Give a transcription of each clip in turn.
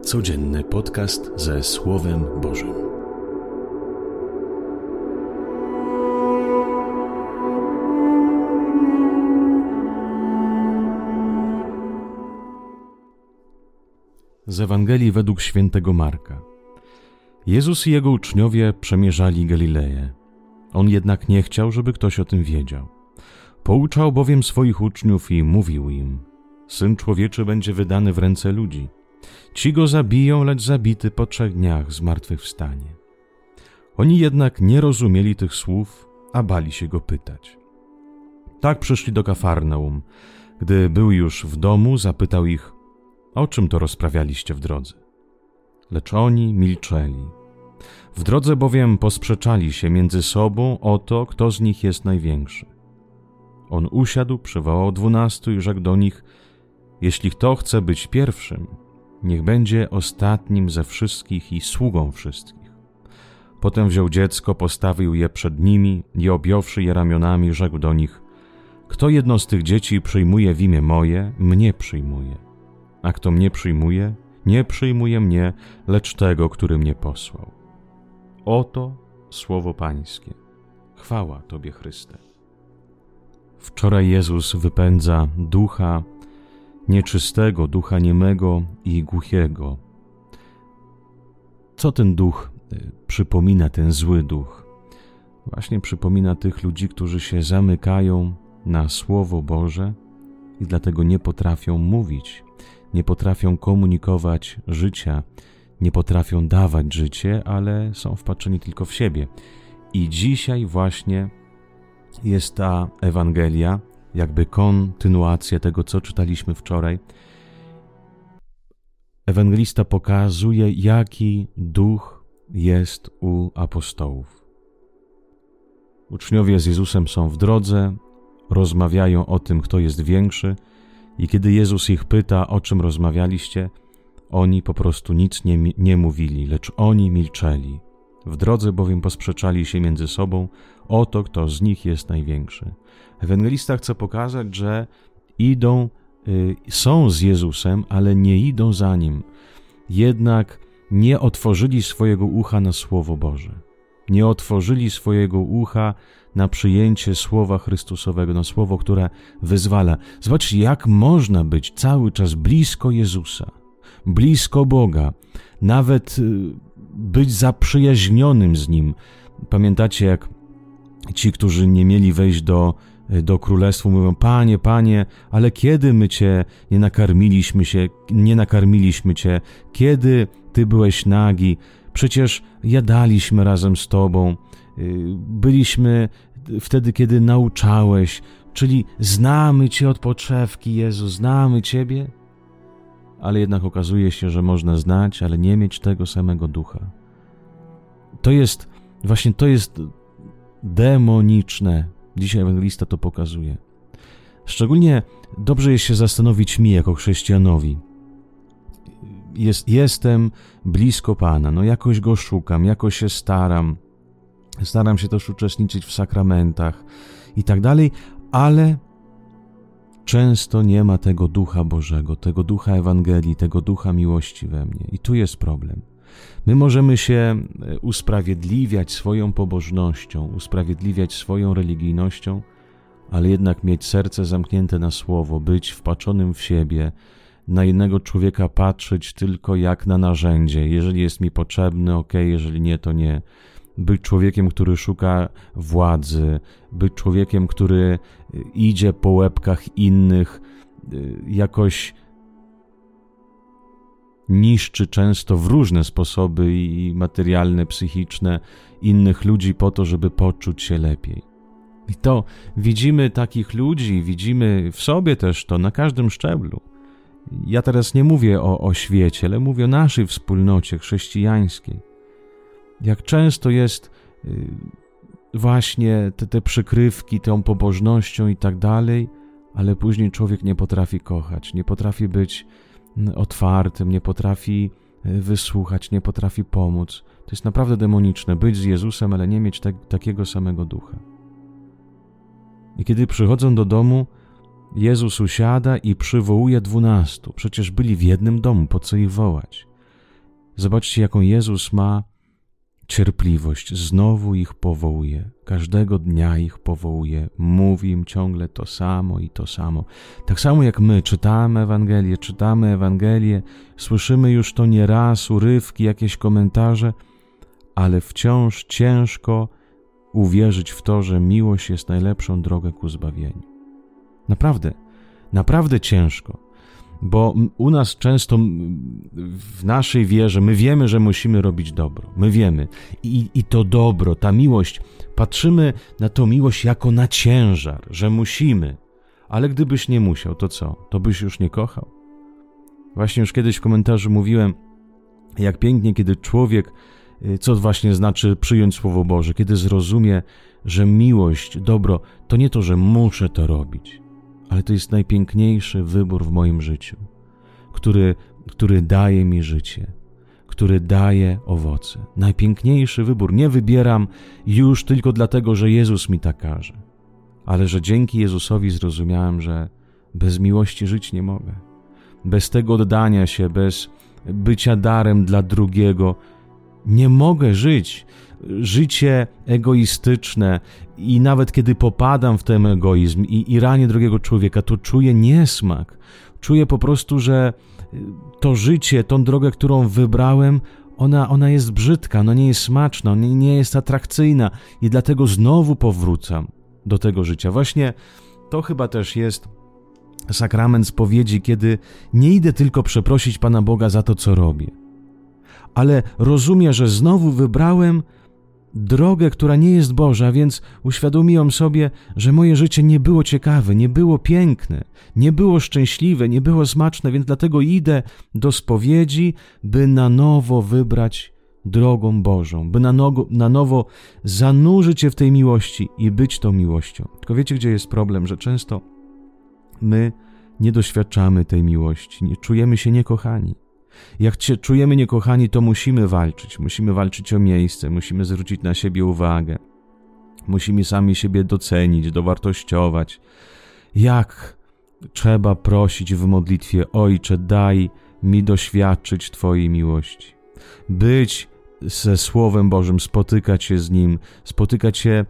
Codzienny podcast ze Słowem Bożym. Z Ewangelii według świętego Marka. Jezus i jego uczniowie przemierzali Galileję. On jednak nie chciał, żeby ktoś o tym wiedział. Pouczał bowiem swoich uczniów i mówił im: Syn Człowieczy będzie wydany w ręce ludzi. Ci go zabiją, lecz zabity po 3 dniach zmartwychwstanie. Oni jednak nie rozumieli tych słów, a bali się go pytać. Tak przyszli do Kafarnaum. Gdy był już w domu, zapytał ich: o czym to rozprawialiście w drodze? Lecz oni milczeli. W drodze bowiem posprzeczali się między sobą o to, kto z nich jest największy. On usiadł, przywołał 12 i rzekł do nich: jeśli kto chce być pierwszym, niech będzie ostatnim ze wszystkich i sługą wszystkich. Potem wziął dziecko, postawił je przed nimi i objąwszy je ramionami, rzekł do nich: kto jedno z tych dzieci przyjmuje w imię moje, mnie przyjmuje. A kto mnie przyjmuje, nie przyjmuje mnie, lecz tego, który mnie posłał. Oto słowo Pańskie. Chwała Tobie, Chryste. Wczoraj Jezus wypędza ducha nieczystego, ducha niemego i głuchiego. Co ten duch przypomina, ten zły duch? Właśnie przypomina tych ludzi, którzy się zamykają na Słowo Boże i dlatego nie potrafią mówić, nie potrafią komunikować życia, nie potrafią dawać życie, ale są wpatrzeni tylko w siebie. I dzisiaj właśnie jest ta Ewangelia, jakby kontynuacja tego, co czytaliśmy wczoraj. Ewangelista pokazuje, jaki duch jest u apostołów. Uczniowie z Jezusem są w drodze, rozmawiają o tym, kto jest większy, i kiedy Jezus ich pyta, o czym rozmawialiście, oni po prostu nic nie mówili, lecz oni milczeli. W drodze bowiem posprzeczali się między sobą o to, kto z nich jest największy. Ewangelista chce pokazać, że są z Jezusem, ale nie idą za Nim. Jednak nie otworzyli swojego ucha na Słowo Boże. Nie otworzyli swojego ucha na przyjęcie Słowa Chrystusowego, na Słowo, które wyzwala. Zobaczcie, jak można być cały czas blisko Jezusa, blisko Boga, nawet być zaprzyjaźnionym z Nim. Pamiętacie, jak ci, którzy nie mieli wejść do królestwa, mówią: Panie, Panie, ale kiedy my Cię nie nakarmiliśmy Cię? Kiedy Ty byłeś nagi? Przecież jadaliśmy razem z Tobą. Byliśmy wtedy, kiedy nauczałeś. Czyli znamy Cię od podszewki, Jezu, znamy Ciebie. Ale jednak okazuje się, że można znać, ale nie mieć tego samego ducha. To jest demoniczne. Dzisiaj ewangelista to pokazuje. Szczególnie dobrze jest się zastanowić mi, jako chrześcijanowi. Jestem blisko Pana, jakoś Go szukam, jakoś się staram. Staram się też uczestniczyć w sakramentach i tak dalej, ale często nie ma tego Ducha Bożego, tego Ducha Ewangelii, tego Ducha miłości we mnie. I tu jest problem. My możemy się usprawiedliwiać swoją pobożnością, usprawiedliwiać swoją religijnością, ale jednak mieć serce zamknięte na Słowo, być wpaczonym w siebie, na innego człowieka patrzeć tylko jak na narzędzie. Jeżeli jest mi potrzebny, okej, jeżeli nie, to nie. Być człowiekiem, który szuka władzy, być człowiekiem, który idzie po łebkach innych, jakoś niszczy często w różne sposoby i materialne, psychiczne innych ludzi po to, żeby poczuć się lepiej. I to widzimy takich ludzi, widzimy w sobie też to na każdym szczeblu. Ja teraz nie mówię o świecie, ale mówię o naszej wspólnocie chrześcijańskiej. Jak często jest właśnie te przykrywki, tą pobożnością i tak dalej, ale później człowiek nie potrafi kochać, nie potrafi być otwartym, nie potrafi wysłuchać, nie potrafi pomóc. To jest naprawdę demoniczne, być z Jezusem, ale nie mieć takiego samego ducha. I kiedy przychodzą do domu, Jezus usiada i przywołuje 12. Przecież byli w jednym domu, po co ich wołać? Zobaczcie, jaką Jezus ma cierpliwość. Znowu ich powołuje. Każdego dnia ich powołuje. Mówi im ciągle to samo i to samo. Tak samo jak my czytamy Ewangelię, słyszymy już to nieraz, urywki, jakieś komentarze, ale wciąż ciężko uwierzyć w to, że miłość jest najlepszą drogą ku zbawieniu. Naprawdę ciężko. Bo u nas często w naszej wierze my wiemy, że musimy robić dobro. My wiemy. I to dobro, ta miłość, patrzymy na tą miłość jako na ciężar, że musimy. Ale gdybyś nie musiał, to co? To byś już nie kochał? Właśnie już kiedyś w komentarzu mówiłem, jak pięknie, kiedy człowiek, co właśnie znaczy przyjąć Słowo Boże, kiedy zrozumie, że miłość, dobro, to nie to, że muszę to robić, ale to jest najpiękniejszy wybór w moim życiu, który daje mi życie, który daje owoce. Najpiękniejszy wybór. Nie wybieram już tylko dlatego, że Jezus mi tak każe, ale że dzięki Jezusowi zrozumiałem, że bez miłości żyć nie mogę. Bez tego oddania się, bez bycia darem dla drugiego nie mogę żyć. Życie egoistyczne i nawet kiedy popadam w ten egoizm i ranię drugiego człowieka, to czuję niesmak. Czuję po prostu, że to życie, tą drogę, którą wybrałem, ona jest brzydka, ona nie jest smaczna, ona nie jest atrakcyjna i dlatego znowu powrócam do tego życia. Właśnie to chyba też jest sakrament spowiedzi, kiedy nie idę tylko przeprosić Pana Boga za to, co robię, ale rozumiem, że znowu wybrałem drogę, która nie jest Boża, więc uświadomiłem sobie, że moje życie nie było ciekawe, nie było piękne, nie było szczęśliwe, nie było smaczne, więc dlatego idę do spowiedzi, by na nowo wybrać drogą Bożą, by na nowo zanurzyć się w tej miłości i być tą miłością. Tylko wiecie, gdzie jest problem? Że często my nie doświadczamy tej miłości, nie czujemy się niekochani. Jak się czujemy niekochani, to musimy walczyć o miejsce, musimy zwrócić na siebie uwagę, musimy sami siebie docenić, dowartościować. Jak trzeba prosić w modlitwie: Ojcze, daj mi doświadczyć Twojej miłości, być ze Słowem Bożym, spotykać się z Nim, spotykać się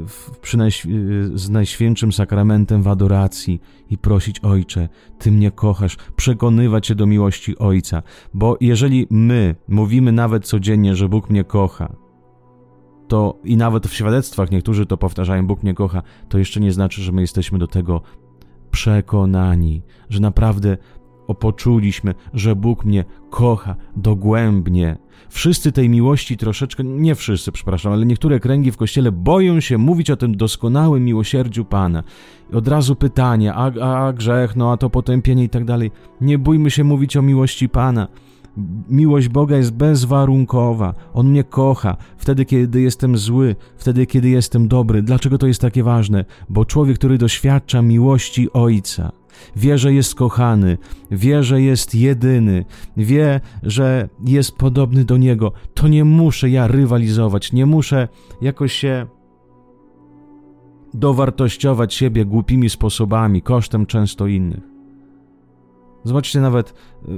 z Najświętszym Sakramentem w adoracji i prosić: Ojcze, Ty mnie kochasz, przekonywać się do miłości Ojca, bo jeżeli my mówimy nawet codziennie, że Bóg mnie kocha, to i nawet w świadectwach niektórzy to powtarzają: Bóg mnie kocha, to jeszcze nie znaczy, że my jesteśmy do tego przekonani, że naprawdę poczuliśmy, że Bóg mnie kocha dogłębnie. Wszyscy tej miłości troszeczkę, nie wszyscy, przepraszam, ale niektóre kręgi w Kościele boją się mówić o tym doskonałym miłosierdziu Pana. I od razu pytanie, a grzech, a to potępienie i tak dalej. Nie bójmy się mówić o miłości Pana. Miłość Boga jest bezwarunkowa. On mnie kocha wtedy, kiedy jestem zły, wtedy, kiedy jestem dobry. Dlaczego to jest takie ważne? Bo człowiek, który doświadcza miłości Ojca, wie, że jest kochany, wie, że jest jedyny, wie, że jest podobny do Niego, to nie muszę ja rywalizować, nie muszę jakoś się dowartościować siebie głupimi sposobami, kosztem często innych. Zobaczcie, nawet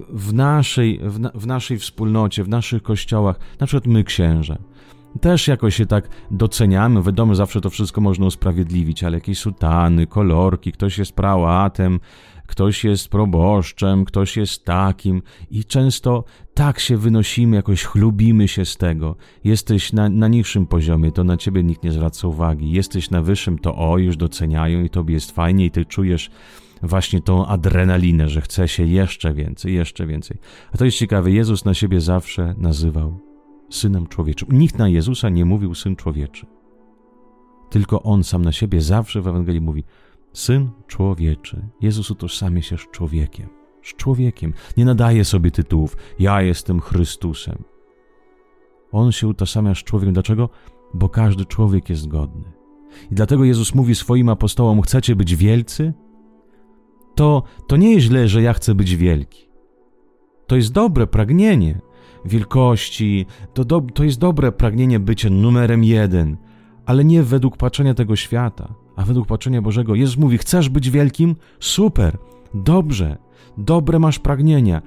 w naszej wspólnocie, w naszych kościołach, na przykład my, księże, też jakoś się tak doceniamy. Wiadomo, zawsze to wszystko można usprawiedliwić, ale jakieś sutany, kolorki, ktoś jest prałatem, ktoś jest proboszczem, ktoś jest takim i często tak się wynosimy, jakoś chlubimy się z tego. Jesteś na niższym poziomie, to na ciebie nikt nie zwraca uwagi. Jesteś na wyższym, to już doceniają i tobie jest fajnie i ty czujesz właśnie tą adrenalinę, że chce się jeszcze więcej. A to jest ciekawe, Jezus na siebie zawsze nazywał Synem Człowieczym. Nikt na Jezusa nie mówił Syn Człowieczy. Tylko On sam na siebie zawsze w Ewangelii mówi Syn Człowieczy. Jezus utożsamia się z człowiekiem. Z człowiekiem. Nie nadaje sobie tytułów. Ja jestem Chrystusem. On się utożsamia z człowiekiem. Dlaczego? Bo każdy człowiek jest godny. I dlatego Jezus mówi swoim apostołom: chcecie być wielcy? To nie jest źle, że ja chcę być wielki. To jest dobre pragnienie wielkości, to jest dobre pragnienie bycia numerem 1, ale nie według patrzenia tego świata, a według patrzenia Bożego. Jezus mówi: chcesz być wielkim? Super, dobrze, dobre masz pragnienia.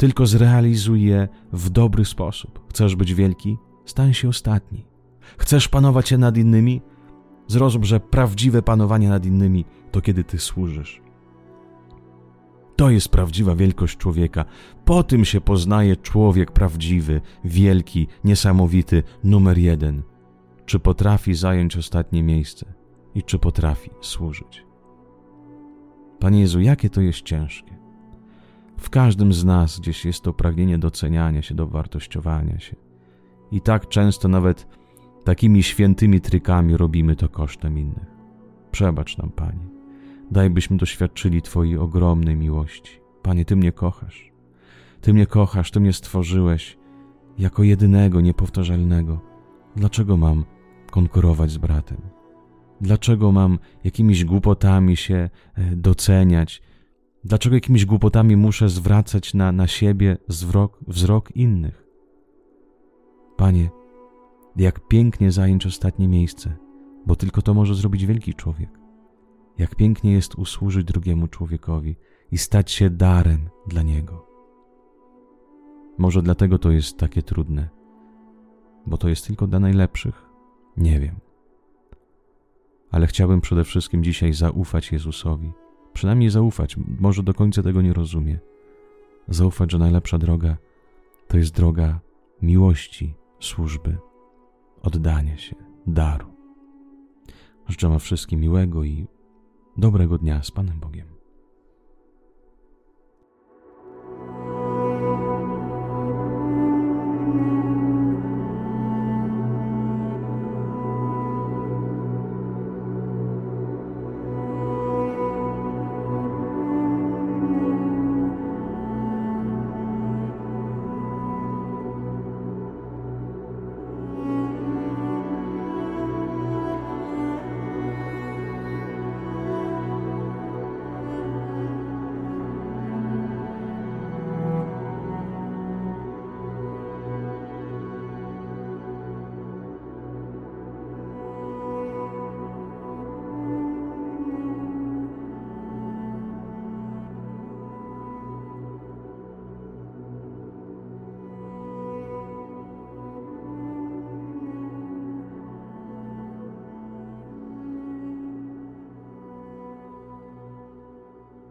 tylko zrealizuj je w dobry sposób. Chcesz być wielki? Stań się ostatni. Chcesz panować nad innymi? Zrozum, że prawdziwe panowanie nad innymi to kiedy ty służysz. To jest prawdziwa wielkość człowieka. Po tym się poznaje człowiek prawdziwy, wielki, niesamowity, numer 1. Czy potrafi zająć ostatnie miejsce i czy potrafi służyć. Panie Jezu, jakie to jest ciężkie. W każdym z nas gdzieś jest to pragnienie doceniania się, dowartościowania się. I tak często nawet takimi świętymi trykami robimy to kosztem innych. Przebacz nam, Panie. Daj, byśmy doświadczyli Twojej ogromnej miłości. Panie, Ty mnie kochasz. Ty mnie kochasz, Ty mnie stworzyłeś jako jedynego, niepowtarzalnego. Dlaczego mam konkurować z bratem? Dlaczego mam jakimiś głupotami się doceniać? Dlaczego jakimiś głupotami muszę zwracać na siebie wzrok innych? Panie, jak pięknie zająć ostatnie miejsce, bo tylko to może zrobić wielki człowiek. Jak pięknie jest usłużyć drugiemu człowiekowi i stać się darem dla niego. Może dlatego to jest takie trudne, bo to jest tylko dla najlepszych? Nie wiem. Ale chciałbym przede wszystkim dzisiaj zaufać Jezusowi. Przynajmniej zaufać, może do końca tego nie rozumie. Zaufać, że najlepsza droga to jest droga miłości, służby, oddania się, daru. Życzę wam wszystkim miłego i dobrego dnia z Panem Bogiem.